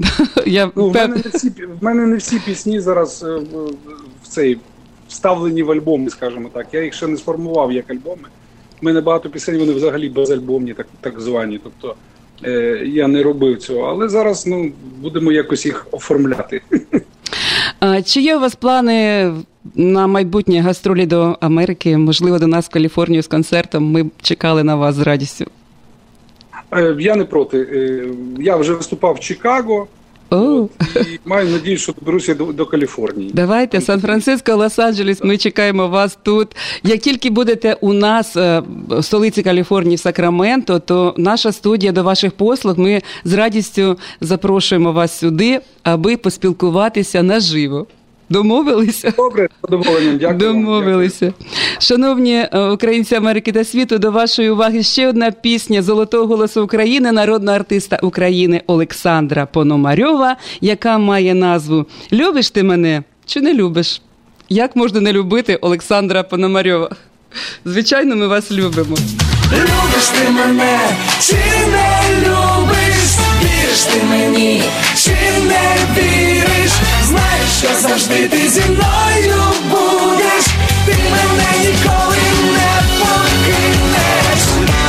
В мене не всі пісні зараз вставлені в альбоми, скажімо так. Я їх ще не сформував як альбоми. У мене багато пісень, вони взагалі безальбомні, так звані. Тобто я не робив цього, але зараз будемо якось їх оформляти. Чи є у вас плани на майбутнє гастролі до Америки, можливо, до нас в Каліфорнію з концертом? Ми б чекали на вас з радістю. Я не проти. Я вже виступав в Чикаго. І маю надію, що доберуся до Каліфорнії. Давайте, Сан-Франциско, Лос-Анджелес, ми чекаємо вас тут. Як тільки будете у нас в столиці Каліфорнії, в Сакраменто, то наша студія до ваших послуг, ми з радістю запрошуємо вас сюди, аби поспілкуватися наживо. Домовилися? Добре, з задоволенням, дякую. Домовилися. Дякую. Шановні українці Америки та світу, до вашої уваги ще одна пісня золотого голосу України, народного артиста України Олександра Пономарьова, яка має назву «Любиш ти мене чи не любиш?». Як можна не любити Олександра Пономарьова? Звичайно, ми вас любимо. Любиш ти мене чи не любиш? Віриш ти мені чи не віриш? Знаєш, що завжди ти зі мною будеш, ти мене ніколи не покинеш.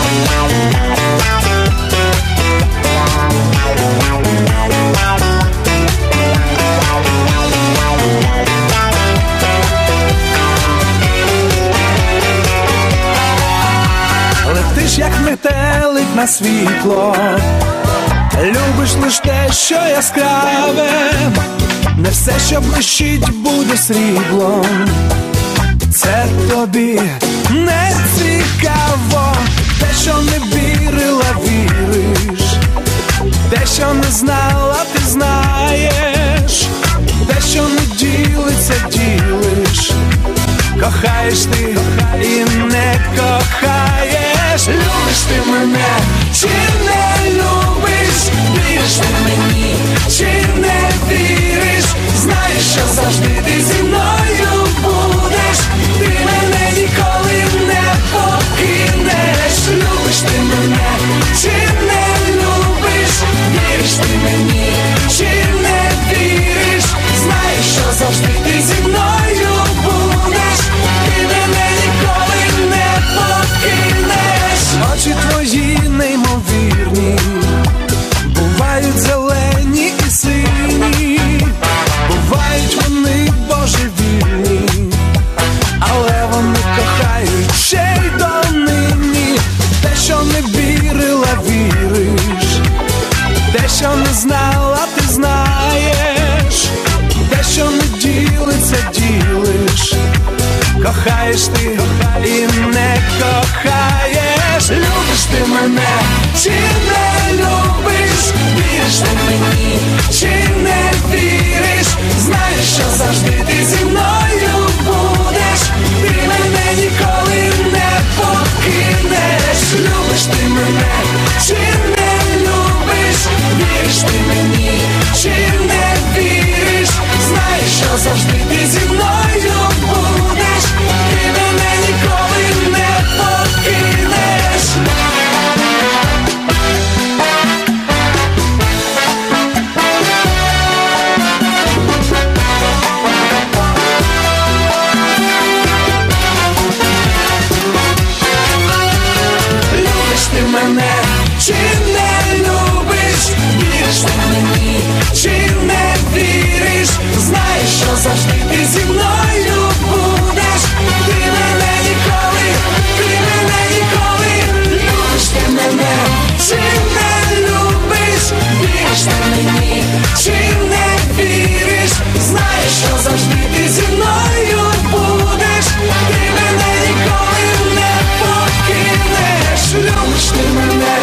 Летиш, як метелик на світло, любиш лиш те, що яскраве, не все, що блищить, буде сріблом. Це тобі не цікаво, те, що не вірила, віриш, те, що не знала, ти знаєш, те, що не ділиться, ділиш. Кохаєш ти і не кохаєш. Любиш ти мене чи не любиш? Віриш ти мені чи не віриш? Знаєш, що завжди ти зі мною будеш, ти мене ніколи не покинеш. Любиш ти мене чи не любиш? Віриш ти мені чи не віриш? Знаєш, що завжди ти зі мною будеш, ти мене ніколи не покинеш. Очі твої неймовірні, бувають зелені і сині, бувають вони божевільні. ділиш. Кохаєш ти і не кохаєш. Любиш ти мене чи не любиш? Віриш ти мені чи не віриш? Знаєш, що завжди ти зі мною будеш. Ти мене ніколи не покинеш. Любиш ти мене чи не любиш? Віриш ти мені чи не віриш? Знаєш, що завжди ти зі мною будеш. Ти мене ніколи не покинеш. Любиш ти мене чи не любиш? Віриш ти мені чи не віриш? Знаєш, що завжди ти зі мною будеш. Ти мене ніколи, ти мене ніколи. Любиш ти мене чи не любиш? Віриш ти мені чи не віриш? Знаєш, що завжди ти зі мною будеш. Ти мене ніколи не покинеш. Любиш ти мене.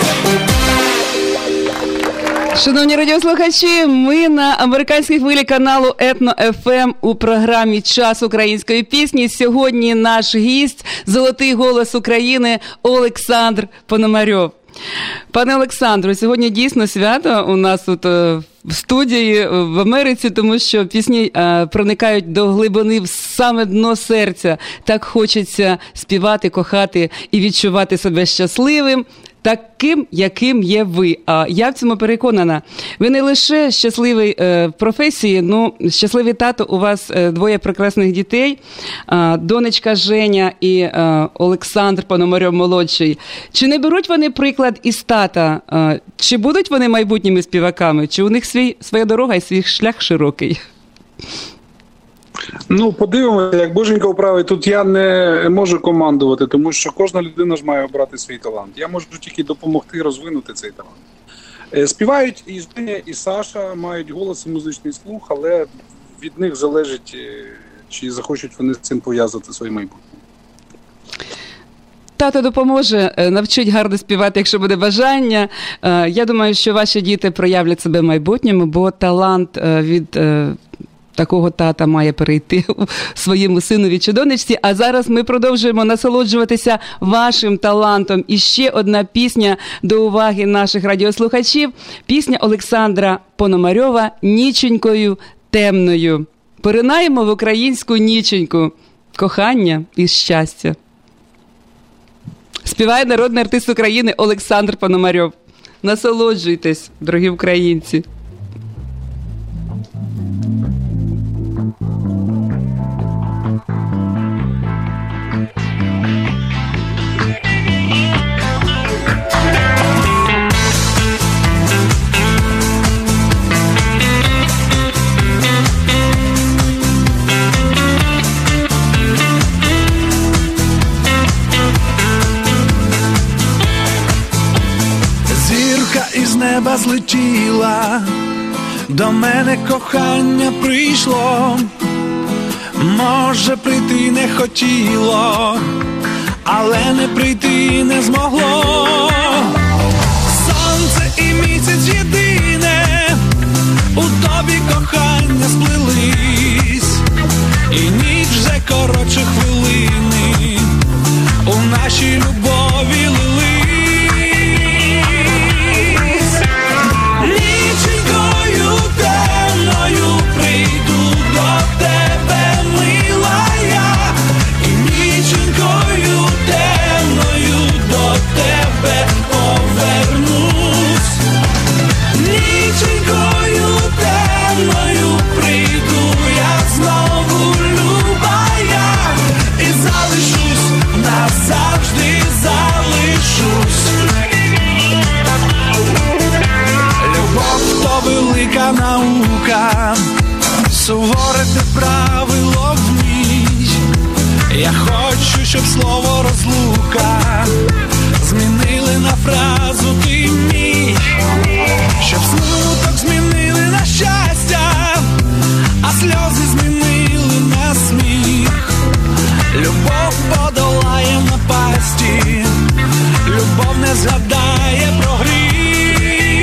Шановні радіослухачі, ми на американській хвилі каналу Етно-ФМ у програмі «Час української пісні». Сьогодні наш гість, золотий голос України Олександр Пономарьов. Пане Олександру, сьогодні дійсно свято у нас тут в студії в Америці, тому що пісні проникають до глибини в саме дно серця. Так хочеться співати, кохати і відчувати себе щасливим, таким, яким є ви. А я в цьому переконана. Ви не лише щасливий в професії, ну, щасливий тато, у вас двоє прекрасних дітей, донечка Женя і Олександр Пономарьов-молодший. Чи не беруть вони приклад із тата? Чи будуть вони майбутніми співаками? Чи у них своя дорога і свій шлях широкий? Ну, подивимося, як Боженька вправить. Тут я не можу командувати, тому що кожна людина ж має обрати свій талант. Я можу тільки допомогти розвинути цей талант. Співають і Женя, і Саша, мають голос і музичний слух, але від них залежить, чи захочуть вони з цим пов'язати своє майбутнє. Тато допоможе, навчить гарно співати, якщо буде бажання. Я думаю, що ваші діти проявлять себе в майбутньому, бо талант від такого тата має перейти своєму синові чи донечці. А зараз ми продовжуємо насолоджуватися вашим талантом. І ще одна пісня до уваги наших радіослухачів. Пісня Олександра Пономарьова «Ніченькою темною». Поринаємо в українську ніченьку. Кохання і щастя. Співає народний артист України Олександр Пономарьов. Насолоджуйтесь, дорогі українці. Із неба злетіла, до мене кохання прийшло, може прийти не хотіло, але не прийти не змогло. Сонце і місяць єдине, у тобі кохання сплелись, і ніч вже коротше хвилини, у нашій любові лились. Прийду до тебе, мила я, і ніченькою темною до тебе повернусь. Ніченькою темною прийду я знову, люба я, і залишусь, назавжди залишусь. Любов то велика наука, суворе те правило в ній. Я хочу, щоб слово розлука змінили на фразу ти мій, щоб смуток змінили на щастя, а сльози змінили на на сміх. Любов подолає напасті, любов не згадає про гріх.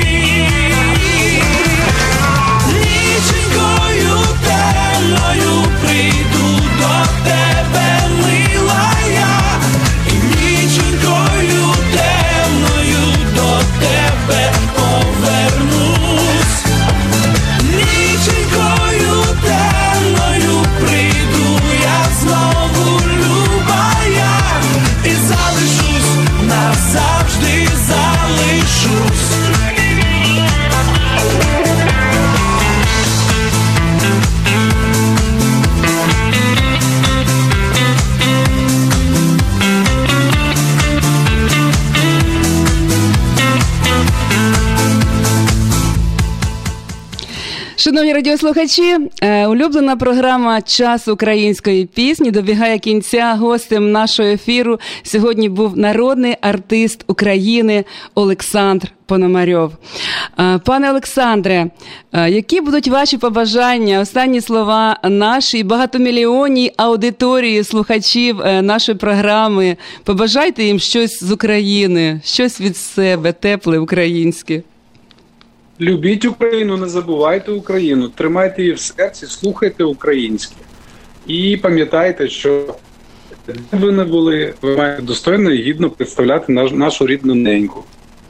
Ніченькою темною прийду до тебе, мила я, і ніченькою темною до тебе повернусь. Ніченькою темною прийду я знову, люба я, і залишусь, назавжди залишусь. Шановні радіослухачі, улюблена програма «Час української пісні» добігає кінця. Гостем нашого ефіру сьогодні був народний артист України Олександр Пономарьов. Пане Олександре, які будуть ваші побажання, останні слова нашій багатомільйонній аудиторії слухачів нашої програми? Побажайте їм щось з України, щось від себе, тепле, українське. Любіть Україну, не забувайте Україну, тримайте її в серці, слухайте українське. І пам'ятайте, що де б ви не були, ви маєте достойно і гідно представляти нашу рідну неньку.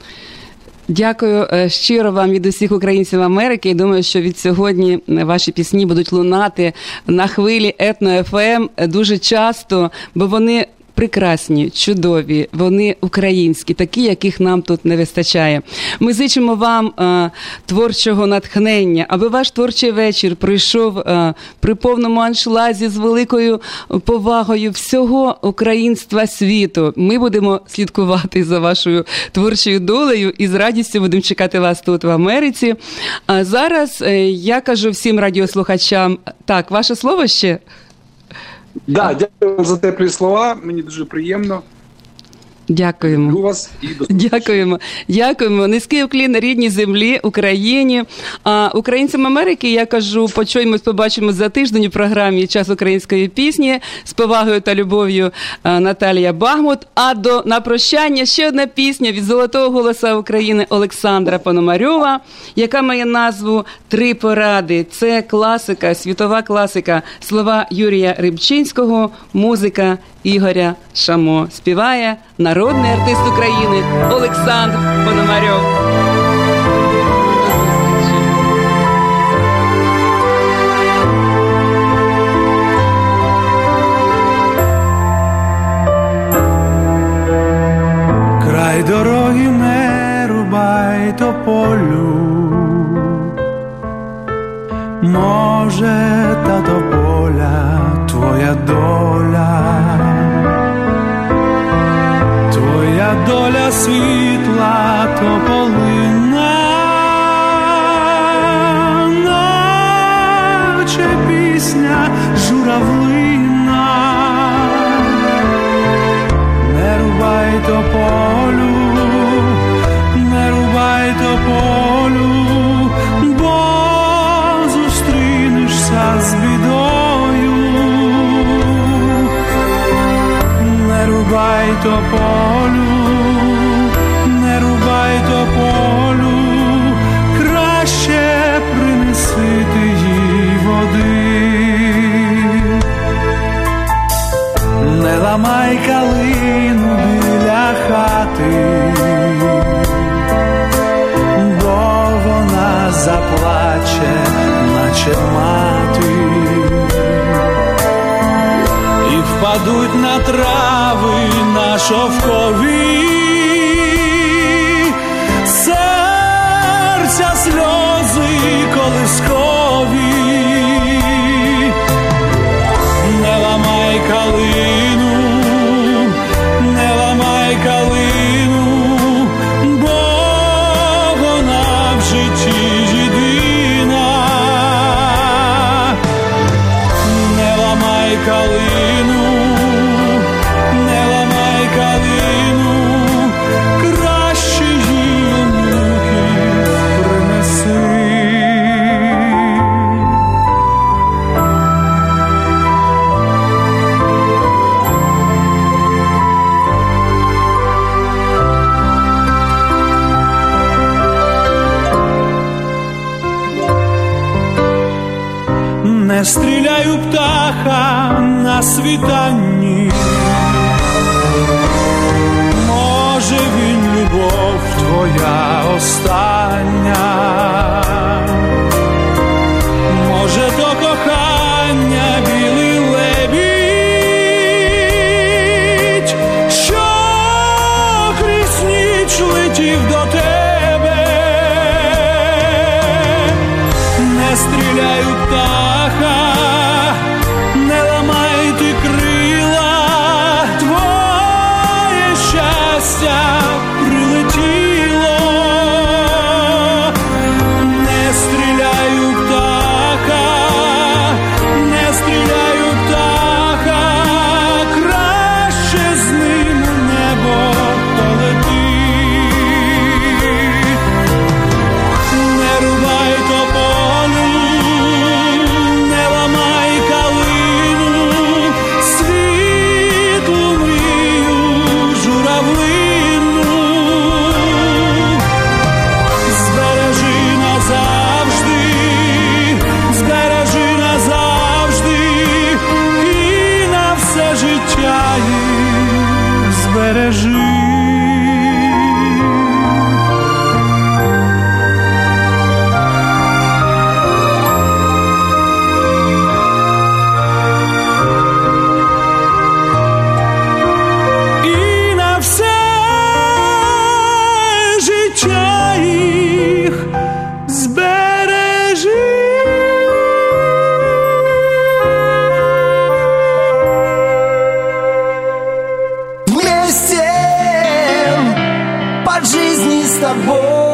Дякую щиро вам від усіх українців Америки. І думаю, що від сьогодні ваші пісні будуть лунати на хвилі Етно-ФМ дуже часто, бо вони прекрасні, чудові, вони українські, такі, яких нам тут не вистачає. Ми зичимо вам творчого натхнення, аби ваш творчий вечір пройшов при повному аншлазі з великою повагою всього українства світу. Ми будемо слідкувати за вашою творчою долею і з радістю будемо чекати вас тут в Америці. А зараз я кажу всім радіослухачам, так, ваше слово ще? Да, дякую вам за теплі слова, мені дуже приємно. Дякуємо. Люблю вас і до зустрічі. Дякуємо. Низький уклін рідній землі, Україні. А українцям Америки я кажу, почуємось, побачимо за тиждень у програмі «Час української пісні». З повагою та любов'ю Наталія Багмут. А на прощання ще одна пісня від золотого голоса України Олександра Пономарьова, яка має назву «Три поради». Це класика, світова класика. Слова Юрія Рибчинського, музика Ігоря Шамо. Співає народний артист України Олександр Пономарьов. Край дороги не рубай тополю, може та тополя твоя доля. Твоя доля світла тополина, наче пісня журавлина. Не рубай тополю, не рубай тополю, бо зустрінешся з бідою. Не рубай тополю, не рубай тополю, краще принеси ти їй води. Не ламай калину біля хати, бо вона заплаче, наче мати. І впадуть на трави на шовкові, серця сльози колискові. Не ламай калину, не ламай калину, бо вона в житті єдина. Не ламай калину, не ламай калину, краще їй онуки принеси. Не стріляй у птаха на світанні. Може він любов твоя остання, може то кохання білий лебідь, що крізь ніч летів до тебе. Не стріляй у птаха, не ламай ти крила, твоє щастя прилетіло. Не стріляй у птаха, не стріляй у птаха, краще з ним у небо полети. Не рубай тополю, не ламай калину, світлу мрію журавлину. Збережи назавжди, збережи назавжди, і на все життя їх збережи. І на все життя їх збережи. Вместе по жизни с тобой